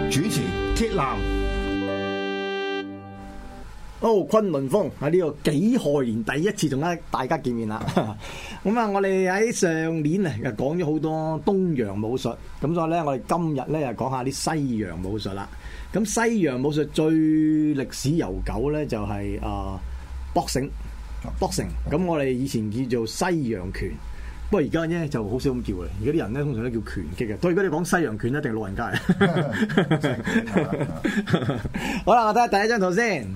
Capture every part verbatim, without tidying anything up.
主持鐵男。 哦，崑崙風喺呢個己亥年第一次同大家見面啦。咁啊，我哋喺上年啊又講咗好多東洋武術，咁所以咧我哋今日咧又講下啲西洋武術啦。咁西洋武術最歷史悠久咧就係啊 boxing，boxing。咁我哋以前叫做西洋拳。不過而家咧就好少咁叫嘅，而家啲人咧通常都叫拳擊嘅。所以如果你講西洋拳一定係老人家嚟。好啦，我睇下第一張圖先。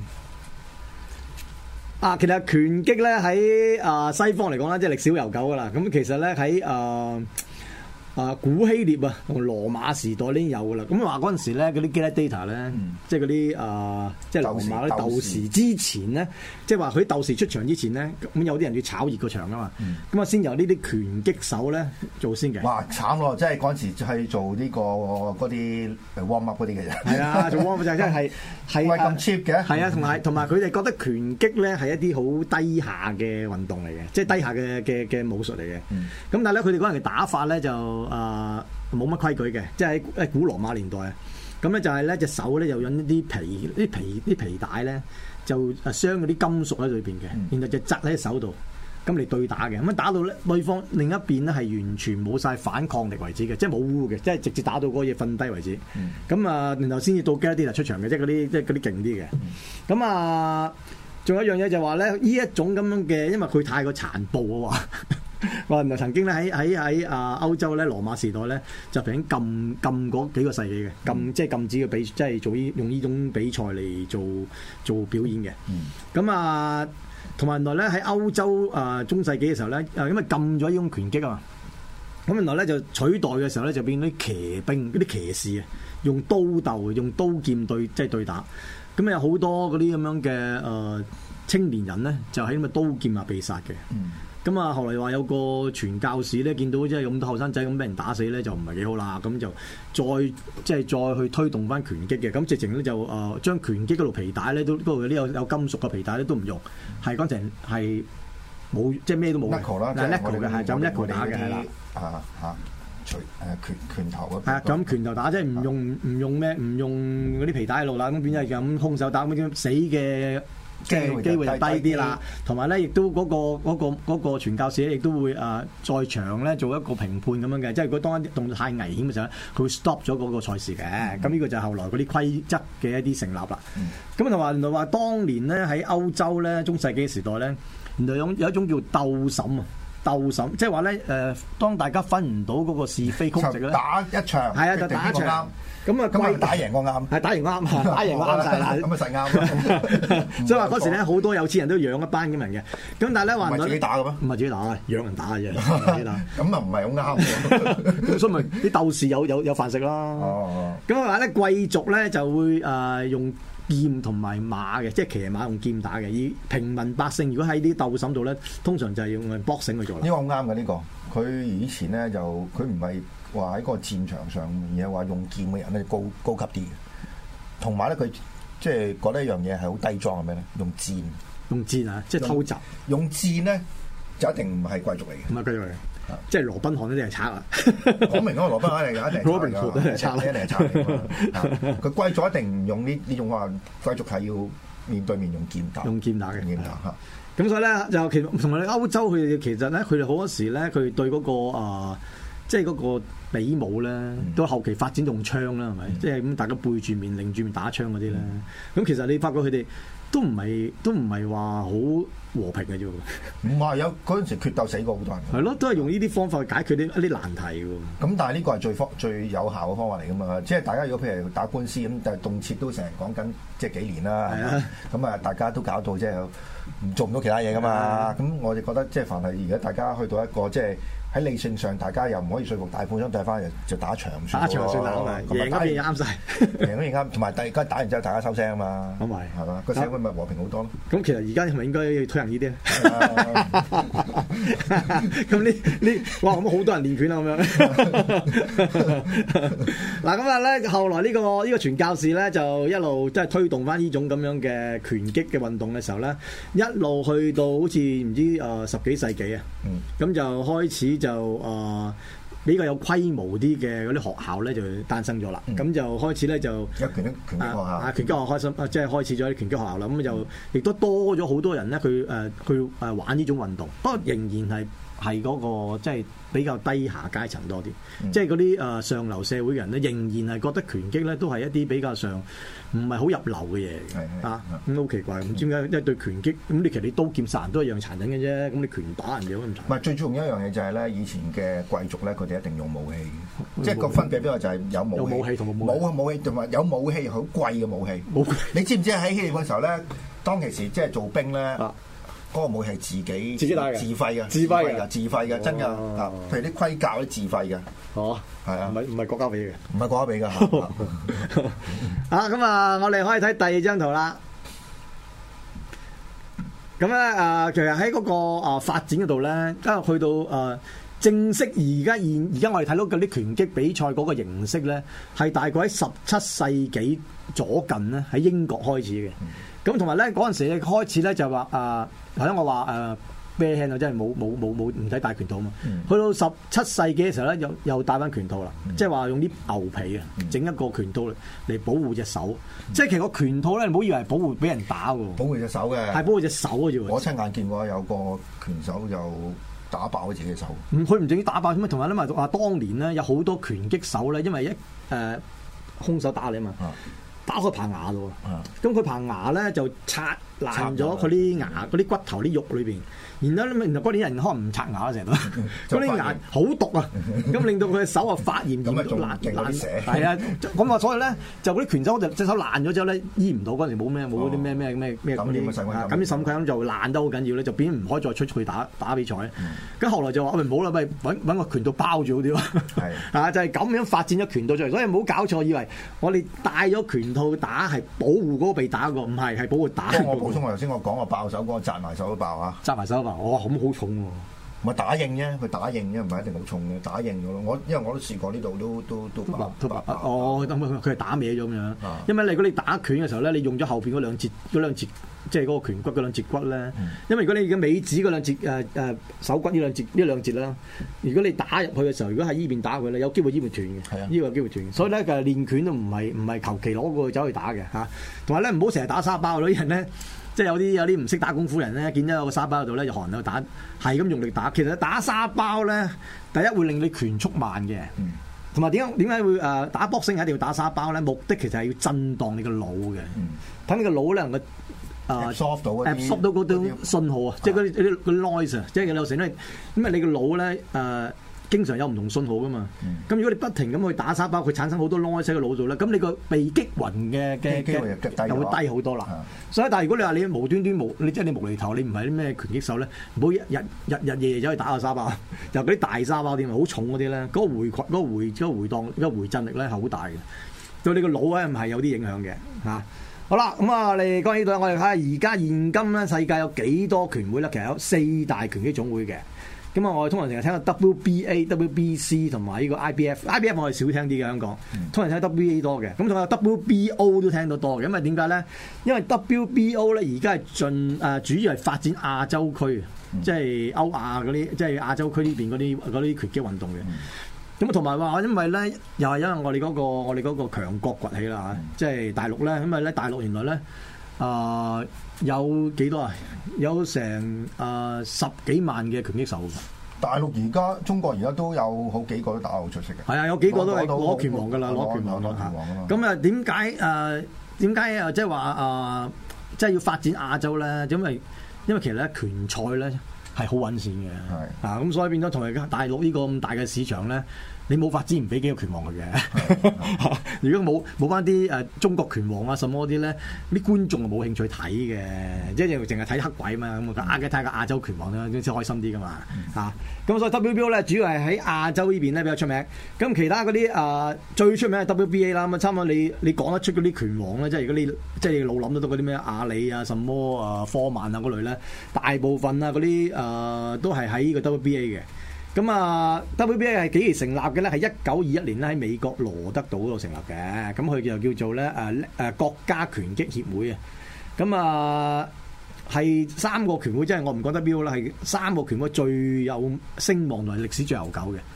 啊，其實拳擊咧喺啊西方嚟講咧，即係歷史悠久噶啦。咁其實咧喺啊啊古希臘啊同羅馬時代呢有噶啦。咁話嗰陣時咧嗰啲 gladiator 咧，嗯、即係嗰啲啊即係羅馬啲鬥士之前咧，即係話佢啲鬥士出場之前咧，咁有啲人要炒熱個場噶嘛。咁啊、嗯、先由呢啲拳擊手咧做先嘅。 哇，慘咯！即係嗰陣時係做呢、呢個嗰啲 warm up 嗰啲嘅啫。係啊，做 warm up 就真係係係咁 cheap 嘅。 係啊，同埋同埋佢哋覺得拳擊咧係一啲好低下嘅運動嚟嘅，即係低下嘅嘅嘅武術嚟嘅。咁、嗯、但係咧，佢哋嗰陣嘅打法咧就啊冇乜規矩嘅，即係喺古羅馬年代啊。咁咧就係咧隻手咧就引一啲皮啲皮啲皮帶咧就啊傷嗰啲金屬喺裏邊嘅，嗯、然後就紮喺隻手度。咁嚟對打嘅，咁樣打到咧對方另一邊咧係完全冇晒反抗力為止嘅，即係冇污嘅，即係直接打到嗰嘢瞓低為止。咁啊、嗯，然後先至到 gladiator 出場嘅，即係嗰啲即係嗰啲勁啲嘅。咁、嗯、啊，仲有一樣嘢就話咧，呢一種咁樣嘅，因為佢太過殘暴啊話，話原來曾經咧喺喺喺啊歐洲咧羅馬時代咧就曾經禁禁嗰幾個世紀嘅，禁即係禁止嘅比，即係做呢用呢種比賽嚟做做表演嘅。咁、嗯、啊。同埋原來咧喺歐洲啊、呃、中世紀嘅時候咧，啊因為禁咗呢種拳擊啊嘛，咁原來咧就取代嘅時候咧就變咗啲騎兵、嗰啲騎士啊，用刀鬥、用刀劍對即係、就是、對打，咁有好多嗰啲咁樣嘅誒、呃、青年人咧就喺咁嘅刀劍下被殺嘅。嗯咁啊，後來話有個傳教士咧，見到即係咁多後生仔咁俾人打死咧，就唔係幾好啦。咁就再即係再去推動翻拳擊嘅。咁直情咧就誒將拳擊嗰度皮帶咧都嗰度啲有有金屬嘅皮帶咧都唔用，係嗰陣係冇即係咩都冇嘅。 Knuckle 啦， 係 Knuckle 嘅，係就咁 Knuckle 打嘅係啦。 啊嚇，除誒拳拳頭嗰。 係啊，咁拳頭打即係唔用唔用咩唔用嗰啲皮帶喺度啦。咁變咗係咁空手打咁樣死嘅。即係機會就低啲啦，同埋咧亦都嗰、嗰個嗰、嗰個嗰、嗰個傳教士咧，亦都會啊在場咧做一個評判咁樣嘅，即係如果當一啲動作太危險嘅時候咧，佢會 stop 咗嗰個賽事嘅。咁呢、嗯、個就係後來嗰啲規則嘅一啲成立啦。咁同埋原來話當年咧喺歐洲咧中世紀時代咧，原來有有一種叫鬥審啊，鬥審即係話咧誒，當大家分唔到嗰個是非曲直咧， 打一場係啊，就打一場。咁啊， 咁打贏個啱， 係打贏個啱，打贏個啱晒啦。咁啊實啱。所以話嗰時咧，好多有錢人都養一班咁人嘅。咁但係咧話唔係自己打嘅咩？ 唔係自己打，養人打嘅啫。自己打。 咁啊唔係好啱。 咁所以咪啲鬥士有有有飯食咯。哦。咁話咧貴族咧就會誒用劍同埋馬嘅，即係騎馬用劍打嘅。而平民百姓如果喺啲鬥審度咧，通常就係用 boxing 去做啦。 呢個好啱嘅呢個。佢以前咧就佢唔係。話喺個戰場上面嘢話用劍嘅人咧高高級啲嘅，同埋咧佢即係覺得一樣嘢係好低裝係咩咧？用箭， 用箭啊，即係偷襲。 用箭咧就一定唔係貴族嚟嘅， 唔係貴族嚟嘅，即係羅賓漢一定係賊啊！ 講明嗰個羅賓漢嚟嘅，一定羅賓漢都係賊， 一定係賊。佢貴族一定唔用呢呢種話，貴族係要面對面用劍打， 用劍打嘅劍打。 咁所以咧就其實同埋歐洲佢哋其實咧佢哋好多時咧佢對嗰個啊。即係嗰個比武咧，到後期發展用槍啦，係咪？嗯、即係咁大家背住面、擰住面打槍嗰啲咧。咁、嗯、其實你發覺佢哋都唔係都唔係話好和平嘅啫。 唔係有嗰陣時決鬥死過好多人。 係咯，都係用呢啲方法去解決啲一啲難題嘅。 咁但係呢個係最方最有效嘅方法嚟㗎嘛。即係大家如果譬如打官司咁，但係動輒都成日講緊即係幾年啦。係啊。咁啊，大家都搞到即係唔做唔到其他嘢㗎嘛。咁、啊、我哋覺得即係凡係而家大家去到一個即係。喺理性上，大家又唔可以說服大半張對翻，就打場算。打場算啦，贏嗰邊啱晒，贏嗰邊啱。同埋大家打完之後，大家收聲啊嘛。咁咪係嘛？個社會咪和平好多咯。咁其實而家係咪應該要推行呢啲咧？咁呢呢哇咁好多人練拳啊咁樣。嗱咁啊咧，後來呢個呢個傳教士咧就一路即係推動翻呢種咁樣嘅拳擊嘅運動嘅時候咧，一路去到好似唔知誒十幾世紀啊。咁就開始。就誒、呃、 比較有規模啲嘅嗰啲學校咧就誕生咗啦。咁、嗯、就開始咧就有拳擊拳擊學校， 啊拳擊學校開心，啊即係開始咗啲拳擊學校啦。咁就亦都多咗好多人咧，佢誒去誒玩呢種運動，不過仍然係係嗰個即係比較低下階層多啲，嗯、即係嗰啲誒上流社會嘅人咧，仍然係覺得拳擊咧都係一啲比較上唔係好入流嘅嘢嚟嘅啊，咁好奇怪，唔知點解？因為對拳擊咁，你其實你刀劍殺人都一樣殘忍嘅啫，咁你拳打人哋咁殘。唔係最重要一樣嘢就係咧，以前嘅貴族咧，佢哋一定用武器嘅，即係個分別邊個就係有武器， 有武器同冇武器，武器同埋有武器好貴嘅武器。 武器你知唔知喺希臘嗰時候咧，當其時即係做兵咧？啊嗰個武器係自己自己帶嘅， 自費嘅， 自費嘅， 自費嘅，真㗎。啊，譬如啲盔甲啲自費嘅。 哦，係啊，唔係唔係國家俾嘅， 唔係國家俾㗎。 啊，咁啊，我哋可以睇第二張圖啦。咁咧啊，其實喺嗰個啊發展嗰度咧，今日去到啊正式而家現而家我哋睇到嗰啲拳擊比賽嗰個形式咧，係大概喺十七世紀左近咧，喺英國開始嘅。咁同埋咧嗰陣時咧開始咧就話啊，頭先我話誒 bare hand 啊，即係冇冇冇冇唔使戴拳套啊嘛。嗯、去到十七世紀嘅時候咧，又又戴翻拳套啦，嗯、即係話用啲牛皮啊，整、嗯、一個拳套嚟保護隻手。嗯、即係其實個拳套咧，唔好以為係保護俾人打喎， 保護隻手嘅， 係保護隻手嘅啫。我親眼見過有個拳手就打爆自己隻手。 唔，佢唔淨止打爆，咁啊，同埋咧咪話當年咧有好多拳擊手咧，因為一誒、呃、兇手打你啊嘛。啊打開棚牙咯，咁佢棚牙咧就拆爛咗佢啲牙嗰啲骨頭啲肉裏邊，然後咧，然後嗰啲人可能唔刷牙成日都，嗰啲牙好毒啊，咁令到佢嘅手啊發炎，咁啊仲爛爛瀉，係啊，咁啊所以咧就嗰啲拳手就隻手爛咗之後咧醫唔到，嗰陣時冇咩冇嗰啲咩咩咩咩嗰啲咁啲腎虧就爛得好緊要咧，就變唔可以再出去打打比賽。咁後來就話喂唔好啦，咪揾揾個拳套包住好啲咯，啊就係咁樣發展咗拳套出嚟，所以唔好搞錯，以為我哋戴咗拳套打係保護嗰個被打個，唔係係保護打。 我補充我頭先我講我爆手嗰個紮埋手都爆啊！ 紮埋手都爆，哇咁好重喎！ 唔係打應啫，佢打應啫，唔係一定好重嘅，打應咗咯。我因為我都試過呢度都都都爆都爆。 哦，咁佢係打歪咗咁樣。因為你如果你打拳嘅時候咧，你用咗後邊嗰兩節嗰兩節，即係嗰個拳骨嗰兩節骨咧。因為如果你嘅尾指嗰兩節誒誒手骨呢兩節呢兩節啦，如果你打入去嘅時候，如果喺依邊打佢咧，有機會依邊斷嘅。呢個有機會斷。所以咧，其實練拳都唔係唔係求其攞個走去打嘅嚇。同埋咧，唔好成日打沙包嗰啲人咧。即係有啲有啲唔識打功夫人咧，見到有個沙包喺度咧，就寒喺度打，係咁用力打。其實打沙包咧，第一會令你拳速慢嘅，同埋點解點解會誒打 boxing 一定要打沙包咧？目的其實係要震盪你個腦嘅，等、嗯、你個腦咧能夠誒 absorb 到 absorb 到嗰種信號啊，即係嗰啲嗰啲 noise 啊，即係有時咧，咁啊你個腦咧誒。呃經常有唔同信號噶嘛，咁、嗯、如果你不停咁去打沙包，佢產生好多 noise 喺個腦度咧，咁你個被擊暈嘅嘅嘅又會低好多啦。嗯、所以但係如果你話你無端端無，你即係你無厘頭，你唔係啲咩拳擊手咧，唔好日日日日夜夜走去打下沙包，尤其啲大沙包啲好重嗰啲咧，嗰、那個回嗰、那個回嗰、那個回盪、那個回震力咧係好大嘅，對你個腦咧唔係有啲影響嘅嚇、啊。好啦，咁啊，我哋講呢度，我哋睇下而家現今咧世界有幾多拳會咧？其實有四大拳擊總會嘅。咁啊，我哋通常成日聽到 W B A、W B C 同埋呢個 I B F，I B F 我哋少聽啲嘅香港，通常聽 W B A 多嘅。咁仲有 W B O 都聽到多嘅，因為點解咧？因為 W B O 咧而家係盡誒主要係發展亞洲區，嗯、即係歐亞嗰啲，即係亞洲區呢邊嗰啲嗰啲拳擊運動嘅。咁啊，同埋話因為咧，又係因為我哋嗰、嗰個我哋嗰個強國崛起啦嚇，嗯、即係大陸咧，因為咧大陸原來咧。啊、呃，有幾多啊？有成啊、呃、十幾萬嘅拳擊手。 大陸而家中國而家都有好幾個都打得好出色嘅。係啊，有幾個都係攞拳王㗎啦，攞拳王㗎嚇。咁啊，點解誒點解啊？即係話啊，即係要發展亞洲咧？因為因為其實咧拳賽咧係好揾錢嘅。係啊，咁所以變咗同埋大陸呢個咁大嘅市場咧。你冇法子唔俾幾個拳王佢嘅，如果冇冇翻啲誒中國拳王啊什麼啲咧，啲觀眾就冇興趣睇嘅，即係淨係睇黑鬼嘛，咁啊睇下個亞洲拳王啦，先開心啲噶嘛嚇。咁、啊、所以 W B O 咧主要係喺亞洲呢邊咧比較出名，咁其他嗰啲誒最出名係 W B A 啦，咁啊差唔多你你講得出嗰啲拳王咧，即係如果你即係你腦諗得到嗰啲咩阿里啊、什麼啊、科曼啊嗰類咧，大部分啊嗰啲誒都係喺呢個 W B A 嘅。咁啊 ，W B A 係幾時成立嘅咧？係一九二一年咧喺美國羅德島度成立嘅。咁佢就叫做咧誒誒國家拳擊協會啊。咁啊係三個拳會，即係我唔講 W B A 啦，係三個拳會最有聲望同埋歷史最悠久嘅。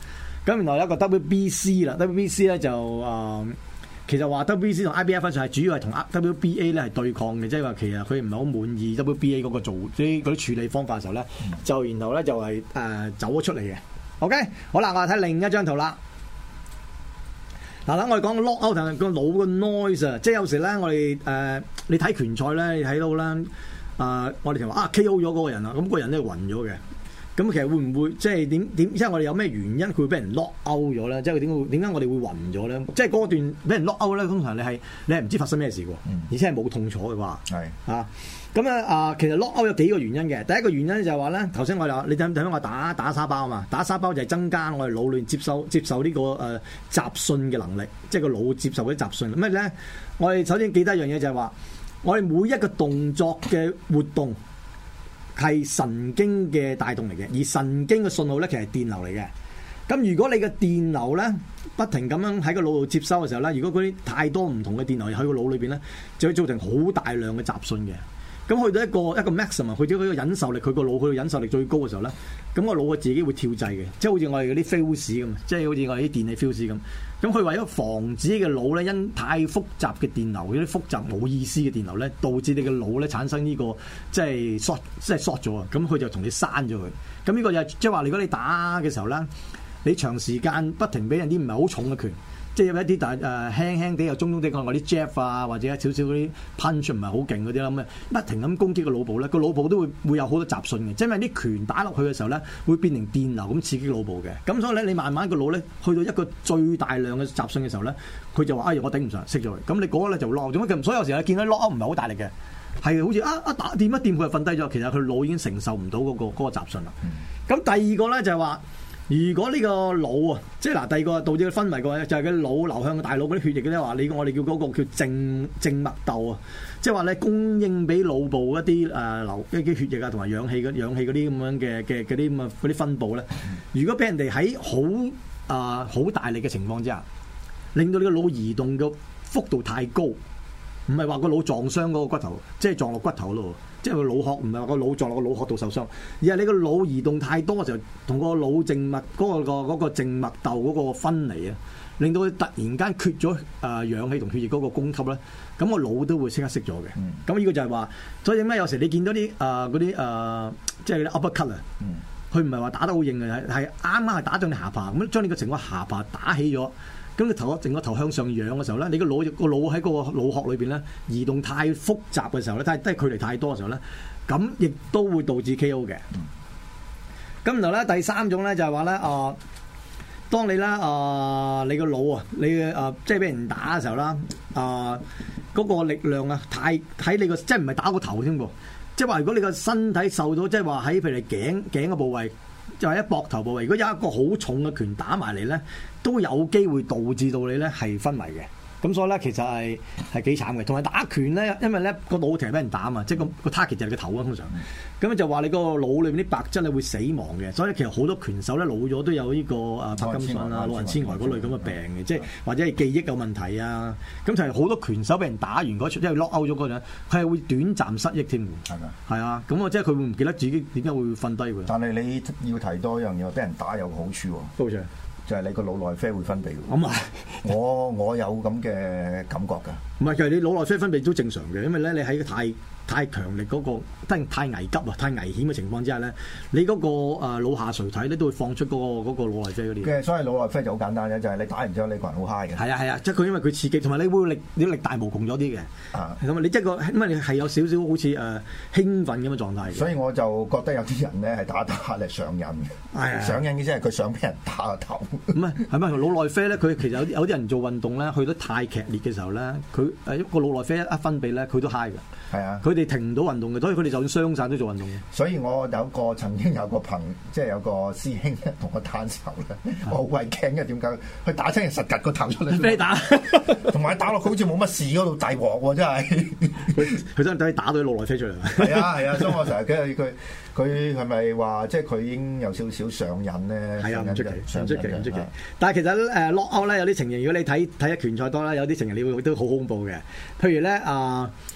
咁然後有一個 W B C 啦 ，W B C 咧就誒、呃，其實話 W B C 同 I B F 上係主要係同 W B A 咧係對抗嘅，即係話其實佢唔係好滿意 W B A 嗰個做啲嗰啲處理方法嘅時候咧，就然後咧就係、是、誒、呃、走咗出嚟嘅。OK， 好啦，我哋睇另一張圖啦。嗱，等我哋講個 lock out 同個腦嘅 noise 啊，即係有時咧，我哋誒、呃、你睇拳賽咧，你睇到咧，誒、呃、我哋就話啊 K O 咗嗰個人啊，咁、那個人咧暈咗嘅。咁其實會唔會即係點點？即係我哋有咩原因佢會俾人 lock out 咗咧？即係點解點解我哋會暈咗咧？即係嗰段俾人 lock out 咧，通常你係你係唔知發生咩事喎，嗯、而且係冇痛楚嘅話。係是啊，咁啊啊，其實 lock out 有幾個原因嘅。第一個原因就係話咧，頭先我哋話你睇睇我打打沙包啊嘛，打沙包就係增加我哋腦裏接收接受呢、這個誒、呃、雜訊嘅能力，即係個腦接受嗰啲雜訊。咁咧，我哋首先記得一樣嘢就係話，我哋每一個動作嘅活動。係神經嘅帶動嚟嘅，而神經嘅信號咧，其實係電流嚟嘅。咁如果你嘅電流咧不停咁樣喺個腦度接收嘅時候咧，如果嗰啲太多唔同嘅電流喺個腦裏邊咧，就會造成好大量嘅雜訊嘅。咁去到一個一個 maximum，去到佢個忍受力，佢個腦佢個忍受力最高嘅時候咧，咁個腦佢自己會跳掣嘅，即係好似我哋嗰啲 fuse 咁，即係好似我哋啲電器 fuse 咁。咁佢為咗防止嘅腦咧，因太複雜嘅電流，嗰啲複雜冇意思嘅電流咧，導致你嘅腦咧產生呢、這個即係 short 即係 short 咗啊！咁佢就同你刪咗佢。咁呢個就即係話，如果你打嘅時候咧，你長時間不停俾人啲唔係好重嘅拳。即係有一啲但係誒輕輕地又中中地講嗰啲 jab 啊，或者少少嗰啲 punch 唔係好勁嗰啲啦，咁不停咁攻擊個腦部咧，個腦部都會會有好多雜訊嘅，即係因為啲拳打落去嘅時候咧，會變成電流咁刺激腦部嘅。咁所以咧，你慢慢個腦咧去到一個最大量嘅雜訊嘅時候咧，佢就話：哎呀，我頂唔順，熄咗佢。咁你嗰個咧就落咗乜？所以有時候你見到 lock out 唔係好大力嘅，係好似啊啊打掂一掂佢就瞓低咗。其實佢腦已經承受唔到嗰個嗰個雜訊啦。咁、嗯、第二個咧就係話。如果呢個腦啊，即係嗱，第二個導致佢昏迷嘅話，就係佢腦流向個大腦嗰啲血液咧，話你我哋叫嗰個叫靜靜脈竇啊，即係話咧供應俾腦部一啲誒流一啲血液啊，同埋氧氣嘅氧氣嗰啲咁樣嘅嘅嗰啲咁啊嗰啲分佈咧，如果俾人哋喺好啊好大力嘅情況之下，令到你個腦移動嘅幅度太高，唔係話個腦撞傷嗰個骨頭，即係撞落骨頭咯。即係個腦殼唔係話個腦撞落個腦殼度受傷，而係你個腦移動太多嘅時候，同個腦靜脈嗰、嗰個、嗰個靜脈竇嗰個分離啊，令到佢突然間缺咗誒氧氣同血液嗰個供給咧，咁個腦都會即刻熄咗嘅。咁呢、嗯、個就係話，所以點解有時你見到啲誒嗰啲誒，即係啲 uppercut 啊，佢唔係話打得好硬嘅，係係啱啱係打中你下巴，咁將你個成個下巴打起咗。咁你頭整個頭向上仰嘅時候咧，你個腦個腦喺個腦殼裏邊咧移動太複雜嘅時候咧，太即係距離太多嘅時候咧，咁亦都會導致 K O 嘅。咁然後咧第三種咧就係話咧啊，當你咧啊、呃、你個腦啊，你嘅啊即係俾人打嘅時候啦，啊嗰個力量啊太喺你個即係唔係打個頭添噃，即係話如果你個身體受到即係話喺譬如你頸頸嘅部位。就係一膊頭部位，如果有一個好重嘅拳打埋嚟咧，都有機會導致到你咧係昏迷嘅。咁所以咧，其實係係幾慘嘅。同埋打拳咧，因為咧個腦其實俾人打啊嘛，即係個個 target 就係你個頭啊，通常。咁就話你個腦裏面啲白質咧會死亡嘅。所以其實好多拳手咧老咗都有呢個啊柏金遜啊、老人痴呆嗰類咁嘅病嘅，即係或者係記憶有問題啊。咁就係好多拳手俾人打完嗰出，即係 lock out 咗嗰陣，佢係會短暫失憶添㗎。係㗎。係啊，咁啊，即係佢會唔記得自己點解會瞓低㗎？但係你要提多一樣嘢，俾人打有好處喎。好處。就係你個腦內啡會分泌嘅。咁啊，我我有咁嘅感覺㗎。唔係，其實你腦內啡分泌都正常嘅，因為咧你喺太太強力嗰、嗰個，太太危急啊、太危險嘅情況之下咧，你嗰、嗰個誒、呃、腦下垂體咧都會放出嗰、嗰個嗰、嗰個腦內啡嗰啲。嘅，所以腦內啡就好簡單嘅，就係、是、你打完之後你個人好 high 嘅。係啊係啊，即係佢因為佢刺激，同埋你會力你力大無窮咗啲嘅。啊，咁啊，你即係個因為你係有少少好似誒、呃、興奮咁嘅狀態。所以我就覺得有啲人咧係打打嚟上癮嘅。係啊，上癮嘅即係佢想俾人打個頭。唔係係咪腦內啡咧？佢其實有啲有啲人做運動咧，去得太劇烈嘅時候咧，佢誒一個腦內啡一分泌咧，佢都 high 嘅。係啊，佢哋停唔到運動嘅，所以佢哋就算傷晒都做運動嘅。所以我有個曾經有個朋，即係有個師兄同我打手咧，我好鬼驚嘅。點解？佢打親人實趌個頭出嚟。俾打，同埋打落佢好似冇乜事嗰度大鑊喎，真係。佢佢真係等你打到啲腦內啡出嚟。係啊係啊，所以我成日驚佢佢係咪話即係佢已經有少少上癮咧？係啊，唔出奇，唔出奇，唔出奇。但係其實誒 lock out 咧有啲情形，如果你睇睇一拳賽多啦，有啲情形你會都好恐怖嘅。譬如咧啊。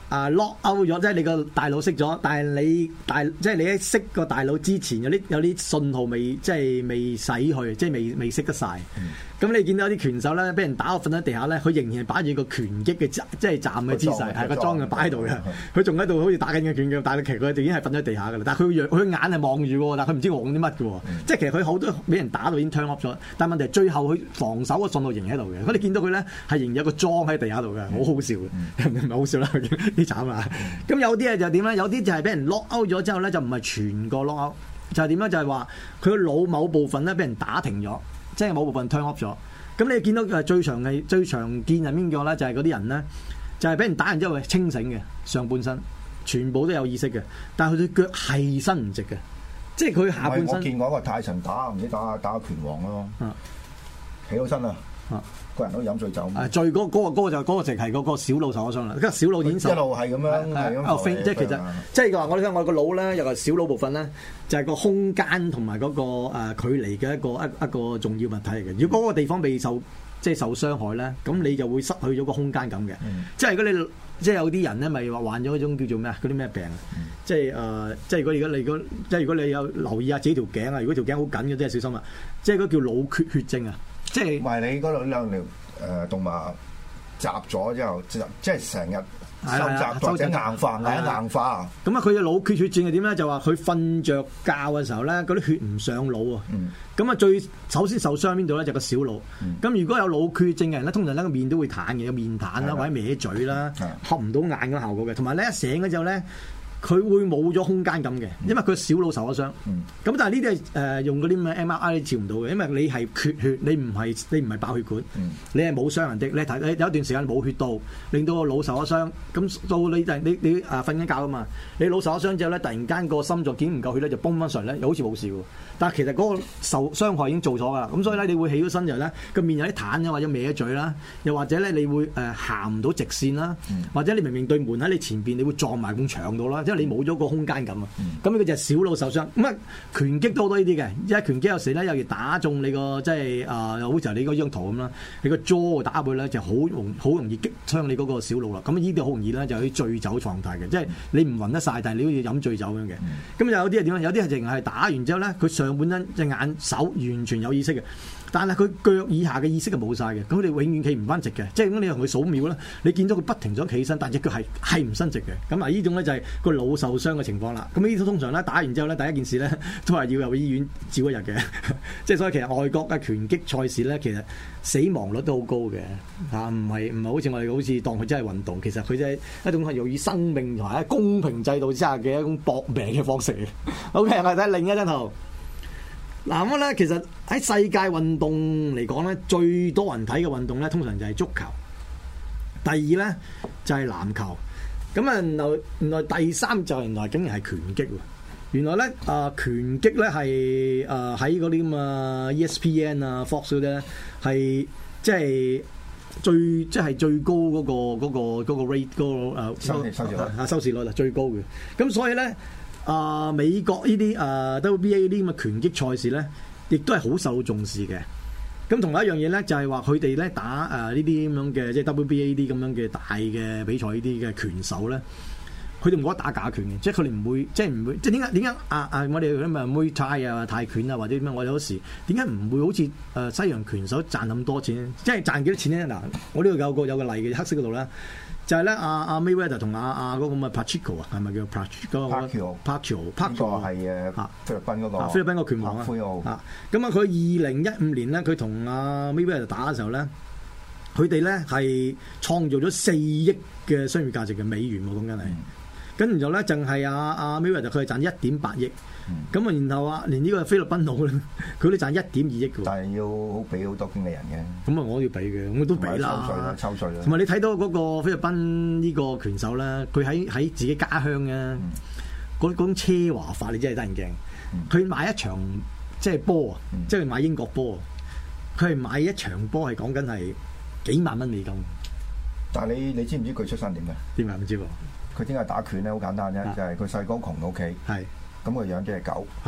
啊 lock out 咗，即係你個大腦熄咗，但係你大即係你喺熄個大腦之前有啲有啲信號未即係未洗去，即係未未熄得晒。咁、嗯、你見到啲拳手咧，俾人打到瞓喺地下咧，佢仍然係擺住個拳擊嘅即係站嘅姿勢，係個裝嘅擺喺度嘅。佢仲喺度好似打緊嘅拳嘅，但係其實佢已經係瞓咗喺地下㗎啦。但係佢佢眼係望住喎，但係佢唔知講啲乜嘅喎。嗯、即係其實佢好多俾人打到已經 turn off 咗，但係問題係最後佢防守嘅信號仍然喺度嘅。如果你見到佢咧係仍然有個裝喺地下度嘅，好、嗯、好笑嘅，唔係、嗯、好笑啦，啲慘啊！咁有啲咧就點咧？有啲就係俾人 lock out 咗之後咧，就唔係全個 lock out，就係點咧？就係話佢個腦某部分咧俾人打停咗，即係某部分 turn off 咗。咁你見到誒最常係最常見係邊個咧？就係嗰啲人咧，就係、是、俾人打完之後係清醒嘅上半身，全部都有意識嘅，但係佢對腳係伸唔直嘅，即係佢下半身。 我見過一個泰臣打唔知打打拳王咯，起到身啦。啊個人都飲醉酒。 啊，最嗰嗰個嗰個就嗰個就係嗰個小腦受咗傷啦。跟住小腦已經受一路係咁樣，係咁。 即係其實即係話我哋睇我個腦咧，有個小腦部分咧，就係個空間同埋嗰個誒距離嘅一個一一個重要物體嚟嘅。如果嗰個地方被受即係受傷害咧，咁你就會失去咗個空間感嘅。即係如果你即係有啲人咧，咪話患咗嗰種叫做咩啊？嗰啲咩病啊？即係誒，即係如果如果你如果即係如果你有留意下自己條頸啊，如果條頸好緊嘅，真係小心啊！即係嗰叫腦缺血症啊！即係，唔係你嗰度兩條誒動脈雜咗之後，即係成日收集或者硬化，硬硬化。咁啊，佢嘅腦缺血症係點咧？就話佢瞓着覺嘅時候咧，嗰啲血唔上腦啊。咁啊、嗯，最首先受傷邊度咧？就個小腦。咁、嗯、如果有腦缺血症嘅人咧，通常咧個面都會癱嘅，有面癱啦，的或者歪嘴啦，合唔到眼嘅效果嘅。同埋咧一醒嘅時候咧，佢會冇咗空間感嘅，因為佢小腦受咗傷。咁、嗯、但係呢啲係誒用嗰啲咩 M R I 照唔到嘅，因為你係缺血，你唔係你唔係爆血管，嗯、你係冇傷人的。你睇你有一段時間冇血到，令到個腦受咗傷。咁到你你你誒瞓緊覺啊嘛，你腦受咗傷之後咧，突然間個心臟見唔夠血咧，就崩翻上嚟咧，又好似冇事喎。但係其實嗰個受傷害已經做咗㗎啦。咁所以咧，你會起咗身之後咧，個面有啲癱或者歪咗嘴啦，又或者咧你會誒行唔到直線啦，嗯、或者你明明對門喺你前邊，你會撞埋埲牆度啦，即係你冇咗個空間感啊！咁呢個就係小腦受傷。咁啊，拳擊都好多呢啲嘅，因為拳擊有時咧，有時打中你個即係啊，好似你嗰張圖咁啦，你個 jaw 打佢咧就好容好容易擊傷你嗰個小腦啦。咁呢啲好容易咧就喺醉酒狀態嘅，即係你唔暈得晒，但係你好似飲醉酒咁嘅。咁有啲係點啊？有啲係淨係打完之後咧，佢上半身隻眼手完全有意識嘅。但係佢腳以下嘅意識係冇晒嘅，咁佢哋永遠企唔翻直嘅，即係咁你同佢數秒啦，你見到佢不停想企起身，但係隻腳係係唔伸直嘅，咁啊呢種咧就係個腦受傷嘅情況啦。咁呢啲通常咧打完之後咧，第一件事咧都係要入醫院照一日嘅，即係所以其實外國嘅拳擊賽事咧，其實死亡率都好高嘅嚇，唔係唔係好似我哋好似當佢真係運動，其實佢真係一種係用以生命同埋喺公平制度之下嘅一種搏命嘅方式嚟。OK，我哋睇另一張圖。嗱咁咧，其實喺世界運動嚟講咧，最多人睇嘅運動咧，通常就係足球。第二咧就係籃球。咁啊，原來原來第三就原來竟然係拳擊喎。原來咧啊、呃，拳擊咧係啊喺嗰啲咁啊 E S P N 啊 Fox 嗰啲咧係即係最即係最高嗰、嗰個嗰、嗰個嗰個 rate 嗰個誒收收視率啊收視率啊最高嘅。咁所以咧。啊、呃！美國呢啲啊 W B A 呢啲咁嘅拳擊賽事咧，亦都係好受重視嘅。咁同埋一樣嘢咧，就係話佢哋咧打誒呢啲咁樣嘅，即係 W B A 啲咁樣嘅大嘅比賽呢啲嘅拳手咧，佢哋唔覺得打假拳嘅，即係佢哋唔會，即係唔會，即係點解點解啊啊！我哋咁啊 Muay Thai啊泰拳啊或者點樣，我有時點解唔會好似誒西洋拳手賺咁多錢？即係賺幾多錢咧？嗱，我呢度有個有個例嘅黑色嗰度咧。就係咧，阿阿 Mayweather 同阿阿嗰個咁嘅 Patrico 啊，係咪叫 Patrico？Patrico，Patrico 係誒菲律賓嗰個菲律賓個拳王啊。啊，咁啊，佢二零一五年咧，佢同阿 Mayweather 打嘅時候咧，佢哋咧係創造咗四億嘅商業價值嘅美元喎，講緊係。跟住然後咧，淨係阿阿 Mayweather 佢係賺一點八億。咁啊，然後啊，連呢個菲律賓佬咧，佢都賺一點二億嘅。但係要俾好多經理人嘅。咁啊，我要俾嘅，我都俾啦。抽稅啦，抽稅啦。同埋你睇到嗰個菲律賓呢個拳手咧，佢喺喺自己家鄉啊，嗰嗰種奢華法，你真係得人驚。佢、嗯、買一場即係波啊，即係、嗯、買英國波啊，佢係買一場波係講緊係幾萬蚊美金。但係你你知唔知佢出身點嘅？點解唔知喎？佢點解打拳咧？好簡單啫，就係佢細個窮到屋企。係。咁佢養隻狗，係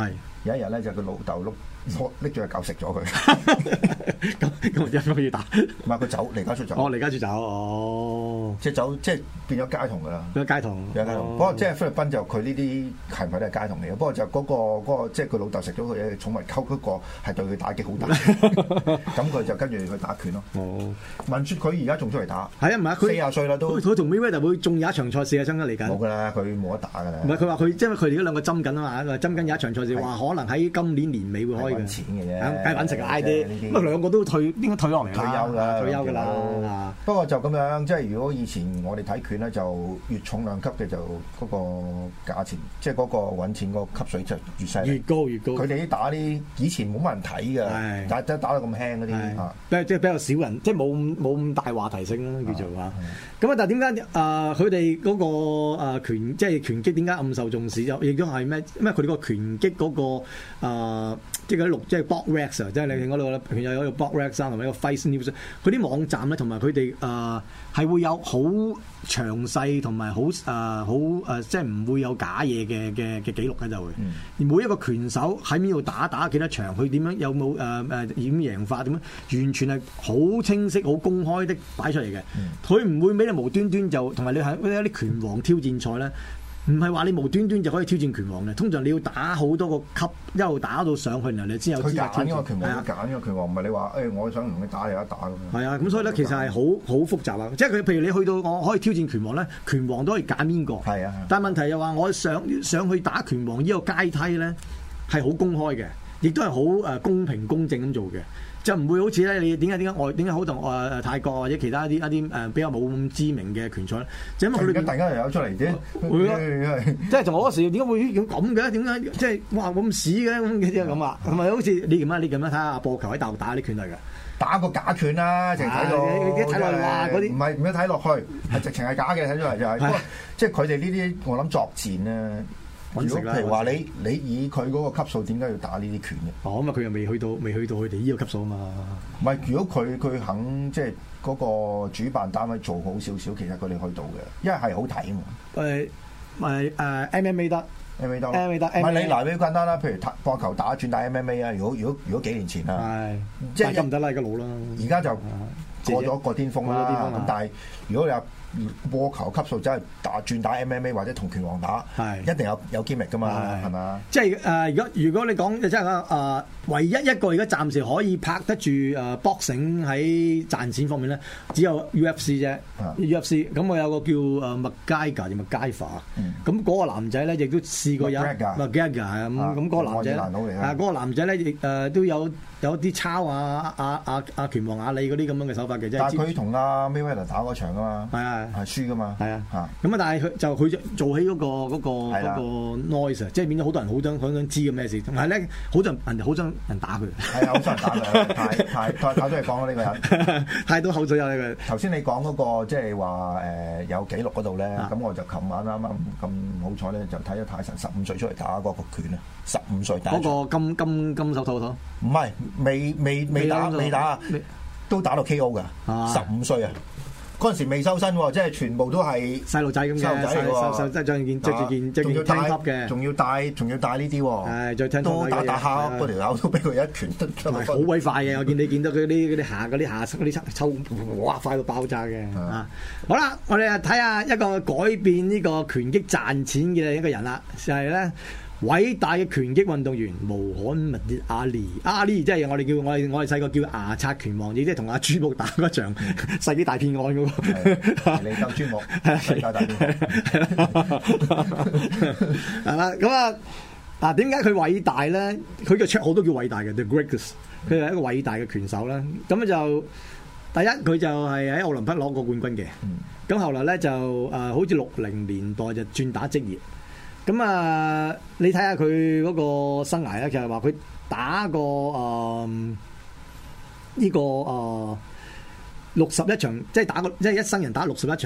有一日咧就佢老豆碌拎住隻狗食咗佢。 咁咁點解要打？ 唔係佢走離家出走。 哦，離家出走，哦， 即係走，即係變咗街童㗎啦。 變咗街童， 變咗街童。不過即係菲律賓就佢呢啲係咪都係街童嚟嘅？不過就嗰個嗰個即係佢老豆食咗佢嘅寵物溝嗰個係對佢打擊好大。咁佢就跟住去打拳咯。哦，聞説佢而家仲出嚟打。係啊，唔係佢四廿歲啦都。佢同 Mayweather 會仲有一場賽事啊，爭緊嚟緊。冇㗎啦，佢冇得打㗎啦。唔係佢話佢，因為佢哋嗰兩個爭緊啊嘛，爭緊有一場賽事，話可能喺今年年尾會開嘅。揾錢嘅啫，梗係揾食啦啲。咁啊兩個都退，應該退落嚟啦。退休啦，退休㗎啦。不過就咁樣，即係如果以前我哋睇拳咧，就越重量級嘅就嗰個價錢，即係嗰個揾錢嗰個級水就越犀利。越高越高。佢哋啲打啲以前冇乜人睇㗎，但係都打到咁輕嗰啲嚇。即係比較少人，即係冇冇咁大話題性啦，叫做嚇。咁啊，但係點解啊？佢哋嗰個誒拳，即係拳擊點解咁受重視？就亦都係咩？因為佢哋個拳擊嗰個誒，即係嗰啲六，即係 BoxRec 啊，即係你嗰度咧，佢有有個 BoxRec 同埋一個 Fight News，佢啲網站咧，同埋佢哋誒係會有好詳細同埋好誒好誒，即係唔會有假嘢嘅嘅嘅記錄喺度嘅。嗯、而每一個拳手喺邊度打打幾多場，佢點樣有冇誒誒點贏法點樣，完全係好清晰、好公開的擺出嚟嘅。佢唔、嗯、會俾你無端端就同埋你喺一啲拳王挑戰賽咧。唔係話你無端端就可以挑戰拳王嘅，通常你要打好多個級，一路打到上去，然後你先有資格挑戰。佢揀呢個拳王，佢揀呢個拳王，唔係你話誒，我想同你打你一打咁樣。係啊，咁所以咧，其實係好好複雜啊！即係佢，譬如你去到我可以挑戰拳王咧，拳王都可以揀邊個。係啊，但係問題又話我想上去打拳王呢個階梯咧，係好公開嘅，亦都係好誒公平公正咁做嘅。就唔會好似咧，你點解點解外點解好同誒泰國或者其他一啲一啲誒比較冇咁知名嘅拳賽咧？就因為佢哋大家又有出嚟啫，會咯，即係同我嗰時點解會咁嘅？點解即係哇咁屎嘅咁嘅啲咁啊？係咪好似你咁樣你咁樣睇下阿波球喺大陸打啲拳嚟㗎？打個假拳啦，淨係睇到睇落話嗰啲，唔係唔係睇落去，係直情係假嘅睇出嚟就係。不過即係佢哋呢啲，我諗作戰咧。如果譬如話你你以佢嗰個級數，點解要打呢啲拳嘅？哦，咁啊佢又未去到未去到佢哋呢個級數啊嘛。唔係，如果佢佢肯即係嗰個主辦單位做好少少，其實佢哋去到嘅，因為係好睇啊嘛。誒誒誒 M M A 得 M M A 得 M M A 得，唔係你嗱，你簡單啦，譬如波球打轉打 M M A 啊。如果如果如果幾年前啊，係即係唔得啦，而家老啦。而家就過咗個巔峰啦。咁但係如果你話波球級數真係打轉打 M M A 或者同拳王打，係一定有有 gimmick 噶嘛，係嘛？即係誒，如果如果你講即係誒，唯一一個而家暫時可以拍得住誒 boxing 喺賺錢方面咧，只有 U F C 啫。U F C 咁我有個叫誒麥佳噶定麥佳法，咁嗰個男仔咧亦都試過有麥佳噶係咁咁嗰個男仔啊，嗰個男仔咧亦誒都有有啲抄啊阿阿阿拳王阿里嗰啲咁樣嘅手法嘅啫。但係佢同阿 Mayweather 打嗰場啊嘛。係啊。係輸噶嘛？係啊，嚇咁啊！但係佢就佢做起嗰個嗰個嗰個 noise，即係變咗好多人好想好想知嘅咩事，同埋咧好多人好想人打佢，係啊，好想人打佢，太太太太多嘢講啦呢個人，太多口水有呢個。頭先你講嗰個即係話誒有記錄嗰度咧，咁我就琴晚啱啱咁好彩咧，就睇咗泰臣十五歲出嚟打嗰個拳啊，十五歲打嗰個金金金手套套，唔係未未未打未打，都打到 K O 噶，十五歲啊！嗰陣時未收身喎，即係全部都係細路仔咁嘅，細路仔嚟喎，即係著件著住件著件聽級嘅，仲要帶仲要帶呢啲喎，係再聽都打打下嗰條友都俾佢一拳得出嚟，好鬼快嘅！我見你見到佢啲嗰啲下嗰啲下嗰啲抽哇快到爆炸嘅啊！好啦，我哋啊睇下一個改變呢個拳擊賺錢嘅一個人啦，就係咧。偉大嘅拳擊運動員穆罕默德阿里，阿里即係我哋叫我哋我哋細個叫牙刷拳王，亦即係同阿朱木打嗰場世紀大騙案嗰個。你鬥朱木，世紀大騙案。係啦，咁啊嗱，點解佢偉大咧？佢嘅綽號都叫偉大嘅 The Greatest，佢係一個偉大嘅拳手啦。咁就第一，佢就係喺奧林匹克攞過冠軍嘅。咁、嗯、後來咧就誒、呃，好似六零年代就轉打職業。咁啊，你睇下佢嗰個生涯咧，就係話佢打過誒呢個誒六十一場，即係打過即係一生人打六十一場，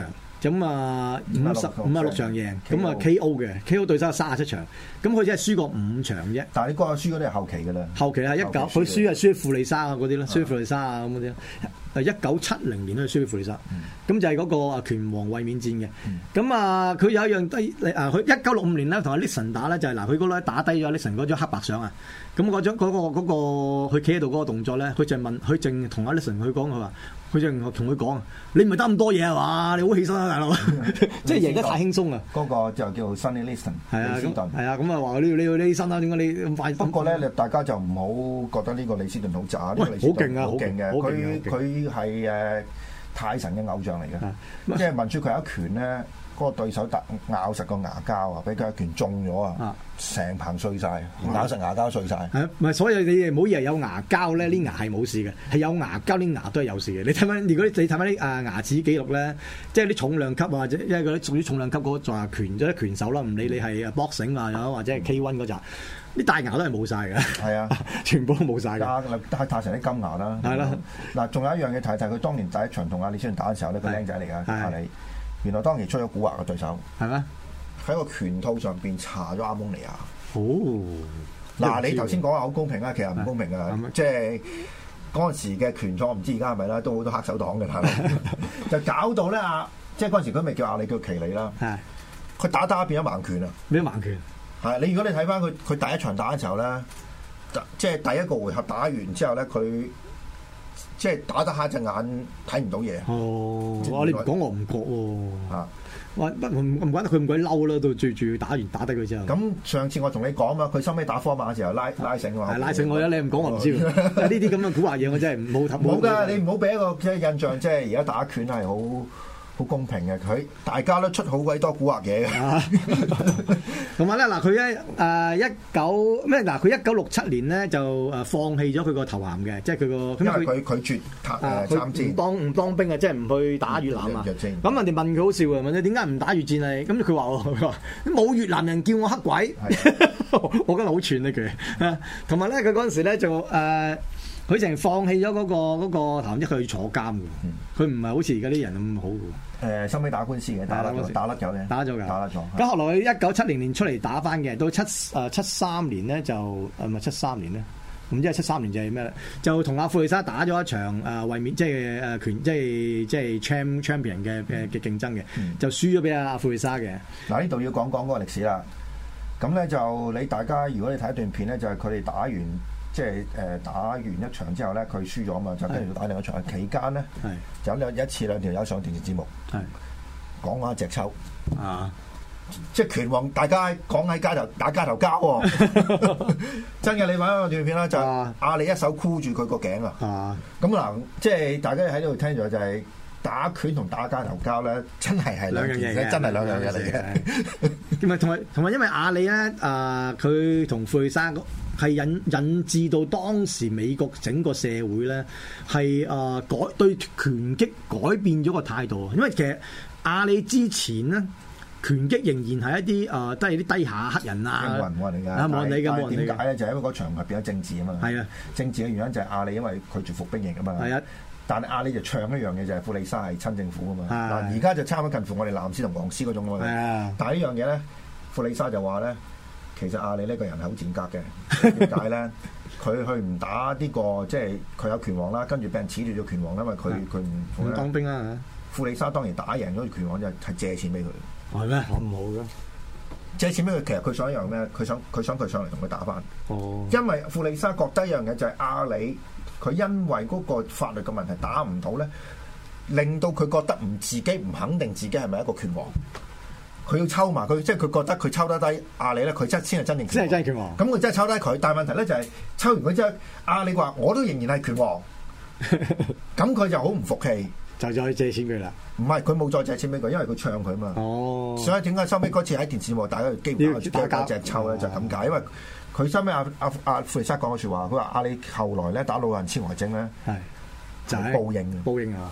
咁啊五十五啊六場贏，咁啊 K O K O 嘅 K O 對手三十七場，咁佢只係輸過五場啫。 但係你嗰個輸嗰啲係後期㗎啦。 後期係一九，佢輸係輸富利沙啊嗰啲咯，輸富利沙啊咁嗰啲。誒一九七零年都係輸俾富利沙，咁、嗯、就係嗰個啊拳王衛冕戰嘅。咁、嗯、啊，佢有一樣低誒，佢一九六五年咧同阿 Nixon 打咧，就係嗱，佢嗰咧打低咗 Nixon 嗰張黑白相啊。咁嗰張嗰、嗰個嗰、嗰個佢企喺度嗰個動作咧，佢就問，佢淨同阿 Nixon 佢講，佢話，佢就同佢講，你唔係得咁多嘢係嘛？你好起身啊，大佬！即係贏得太輕鬆啊！ 嗰個就叫 Sonny Liston， 係啊，咁係啊，咁啊話你你要起身啊？點解你咁快？ 不過咧，你大家就唔好覺得呢個李斯頓好渣，呢、呢個李斯好勁啊， 好勁嘅，佢佢係誒泰神嘅偶像嚟嘅，即係聞住佢有一拳咧。嗰個對手突咬實個牙膠啊，俾佢一拳中咗啊，成棚碎晒，咬實牙膠碎晒。係唔係？所以你唔好以為有牙膠咧，啲牙係冇事嘅，係有牙膠啲牙都係有事嘅。你睇翻，如果你睇翻啲啊牙齒記錄咧，即係啲重量級或者因為嗰啲屬於重量級嗰個拳即係拳手啦，唔理你係 boxing 啊，又或者係 K 一嗰扎，啲大牙都係冇晒嘅。係啊，全部都冇晒嘅。 泰泰成啲金牙啦。係啦。嗱，仲有一樣嘢睇睇，佢當年第一場同阿李斯頓打嘅時候呢，個僆仔嚟㗎，阿李。原來當年出咗蠱惑嘅對手，係咩？喺個拳套上邊搽咗阿蒙尼亞。哦，嗱，你頭先講話好公平啊，其實唔公平啊，即係嗰陣時嘅拳賽，唔知而家係咪啦，都好多黑手黨嘅，係咪？就搞到咧啊，即係嗰陣時佢咪叫阿里叫奇里啦，係，佢打打變咗盲拳啊，變咗盲拳。係你如果你睇翻佢佢第一場打嘅時候咧，即係第一個回合打完之後咧，佢。即係打得下隻眼睇唔到嘢。哦，哇！你唔講我唔覺喎。啊，哇！不唔唔怪得佢咁鬼嬲啦，到最住打完打低佢之後。咁上次我同你講嘛，佢收尾打科馬嘅時候拉拉繩喎。係拉繩我啦，你唔講我唔知。呢啲咁嘅古惑嘢我真係冇睇。冇㗎，你唔好俾一個即係印象，即係而家打拳係好好公平嘅，佢大家都出好鬼多古惑嘢嘅。同埋咧嗱，佢咧誒一九咩嗱？佢一九六七年咧就誒放棄咗佢個頭銜嘅，即係佢個因為佢拒絕誒參戰，唔當唔當兵啊，即係唔去打越南啊。咁人哋問佢好笑啊，問你點解唔打越戰啊？咁佢話佢話冇越南人叫我黑鬼，我覺得好串呢句。同埋咧，佢嗰陣時咧就誒。呃佢淨係放棄咗嗰、那個嗰、那個頭，一佢坐監嘅，佢唔係好似而家啲人咁好嘅。誒，收尾打官司嘅，打甩咗，打甩咗嘅，打咗㗎，打甩咗。咁後來佢一九七零年出嚟打翻嘅，到七誒七三年咧就誒唔係七三年咧，唔知係七三年就係咩咧？就同阿富利沙打咗一場誒衛冕，即係誒拳，即係即係 champ champion 嘅嘅嘅競爭嘅，嗯、就輸咗俾阿富利沙嘅。嗱，呢度要講講嗰個歷史啦。咁咧就你大家如果你睇一段片咧，就係佢哋打完。即係誒、呃、打完一場之後咧，佢輸咗啊嘛，就跟住打另一場。期間咧，就有兩一次兩條友上電視節目，講下隻抽啊，即係拳王，大家講喺街頭打街頭交喎、哦。真嘅，你揾個段片啦，就阿里一手箍住佢個頸啊。咁嗱，即係大家喺度聽咗就係、是、打拳同打街頭交咧，真係係兩樣嘢，真係兩樣嘢嚟嘅。同埋同埋同埋，因為阿里咧啊，佢同富利沙係引引致到當時美國整個社會咧係誒改對拳擊改變咗個態度，因為其實阿里之前咧拳擊仍然係一啲誒、呃、都係啲低下黑人啊，冇人冇人理㗎，冇人理㗎，冇人理㗎。點解咧？就係、是、因為嗰場合變咗政治啊嘛。係啊，政治嘅原因就係阿里因為拒絕服兵役啊嘛。係啊，但係阿里就唱一樣嘢就係富利沙係親政府啊嘛。嗱，而家就差唔多近乎我哋藍絲同黃絲嗰種咯。係啊，但係呢樣嘢咧，富利沙就話咧。其實阿里呢個人係好賤格嘅，點解咧？佢去唔打呢、這個，即係佢有拳王啦，跟住俾人褫奪咗拳王，因為佢佢唔唔當兵啊！富利沙當然打贏咗拳王就係借錢俾佢。係咩？我唔好嘅。借錢俾佢，其實佢想一樣咩？佢想佢想佢上嚟同佢打翻。哦。因為富利沙覺得一樣嘢就係阿里，佢因為嗰個法律嘅問題打唔到咧，令到佢覺得唔自己唔肯定自己係咪一個拳王。佢要抽埋佢，即係佢覺得佢抽得低阿里咧，佢真先係真正真係真係拳王。咁佢真係抽低佢，但係問題咧就係、是、抽完佢之後，阿里話我都仍然係拳王，咁佢就好唔服氣，就再借錢佢啦。唔係佢冇再借錢俾佢，因為佢唱佢嘛。哦，所以點解收尾嗰次喺電視幕大家基本上打隻抽咧就係咁解，因為佢收尾阿阿阿富利沙講嘅説話，佢話阿里後來咧打老人痴呆症咧係就係報應報應啊！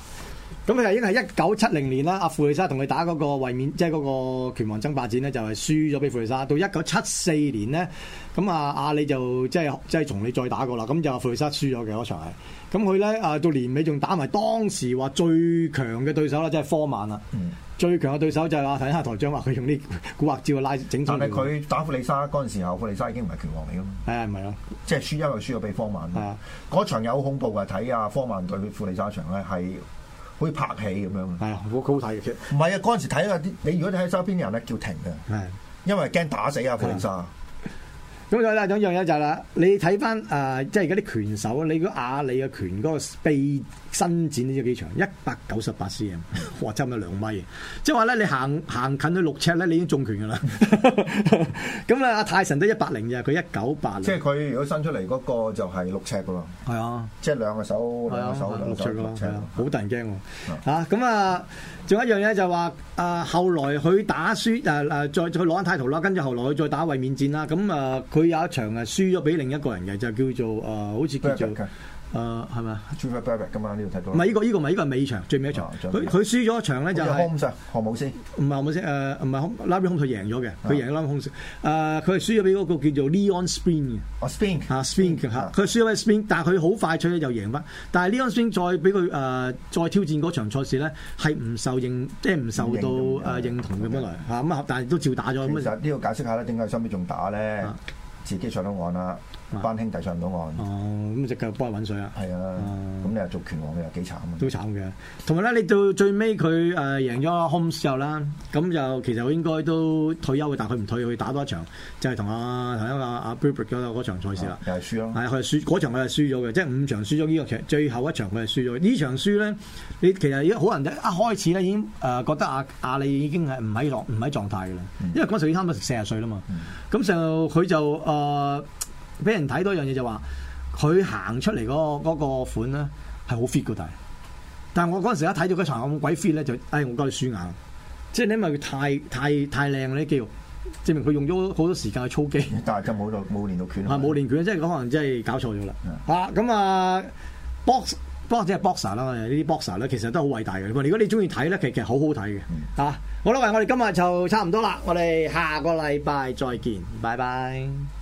咁佢係已經係一九七零年啦，阿傅利沙同佢打嗰個衛冕，即係嗰個拳王爭霸戰咧，就係輸咗俾傅利沙。到一九七四年咧，咁啊阿里就即係即係同你再打過啦，咁就傅利沙輸咗嘅嗰場係。咁佢咧啊到年尾仲打埋當時話最強嘅對手啦，即係科曼啦。嗯、最強嘅對手就係話睇下台長話佢用啲古惑招拉整出嚟。但係佢打傅利沙嗰陣時候，傅利沙已經唔係拳王嚟㗎嘛。係啊， 唔係啊， 即係輸，因為輸咗俾科曼。係啊，嗰場有好恐怖㗎，睇啊科曼對傅利沙場咧係。好似拍戲咁樣， 係啊，好好睇嘅。其實唔係啊，嗰陣時睇下啲，你如果你喺周邊人咧叫停嘅，係，因為驚打死啊傅利沙。 咁有啦，有一樣嘢就係啦，你睇翻誒，即係而家啲拳手，你嗰阿里嘅拳嗰個臂伸展呢知幾長？一百九十八 cm， 哇，差唔多兩米。即係話咧，你行行近去六尺咧，你已經中拳㗎啦。咁啊，阿泰臣都一百零嘅，佢一九八。即係佢如果伸出嚟嗰個就係六尺㗎咯。 係啊， 即係兩個手，兩個手六尺㗎啦，好得人驚喎。 嚇咁啊，仲有一樣嘢就話啊，後來佢打輸誒誒，再再攞緊 title啦，跟住後來佢再打衛冕戰啦。咁啊，佢有一場係輸咗俾另一個人嘅，就叫做誒、呃，好似叫做。誒係咪啊 Trevor Berbick 㗎嘛？呢度睇到。 唔係呢個呢個唔係呢個係尾場，最尾一場。佢佢輸咗一場咧就係。 Holmes 何姆斯。 唔係何姆斯誒，唔係 Larry Holmes 佢贏咗嘅，佢贏咗 Larry Holmes。誒佢係輸咗俾嗰個叫做 Leon Spinks 嘅。 哦 Spinks 嚇 Spinks 嚇，佢輸咗俾 Spinks，但係佢好快脆就贏翻。但係 Leon Spinks 再俾佢誒再挑戰嗰場賽事咧，係唔受認，即係唔受到誒認同嘅本來嚇咁啊，但係都照打咗。 其實呢個解釋下咧，點解收尾仲打咧？自己上到岸啦。班兄弟上唔到岸， 哦，咁就繼續幫佢揾水啦。 係啊，咁你又做拳王，你又幾慘啊？ 都慘嘅。同埋咧，你到最尾佢誒贏咗 Holmes 之後啦，咁就其實佢應該都退休嘅，但係佢唔退，佢打多一場，就係同阿同一個阿 Berbick 嗰場賽事啦。 又係輸咯。 係佢係輸嗰場，佢係輸咗嘅，即係五場輸咗呢個劇，最後一場佢係輸咗。呢場輸咧，你其實而家好多人一開始咧已經誒覺得阿阿里已經係唔喺狀唔喺狀態嘅啦，因為嗰陣時已經差唔多四十歲啦嘛。咁就佢就誒。俾人睇到一樣嘢就話，佢行出嚟嗰、嗰個嗰個款咧係好 fit 嘅，但係，但係我嗰陣時一睇到嗰場咁鬼 fit 咧，就唉、哎，我覺得輸硬，即係你因為佢太太太靚啲肌肉，證明佢用咗好多時間去操肌， 但係就冇到冇練到拳， 係冇練拳，即係可能真係搞錯咗啦。嚇咁啊 box box 即係 boxer 啦，呢啲 boxer 咧其實都好偉大嘅。如果你中意睇咧，其實其實好好睇嘅。嚇、嗯啊、好啦，喂，我哋今日就差唔多啦，我哋下個禮拜再見，拜拜。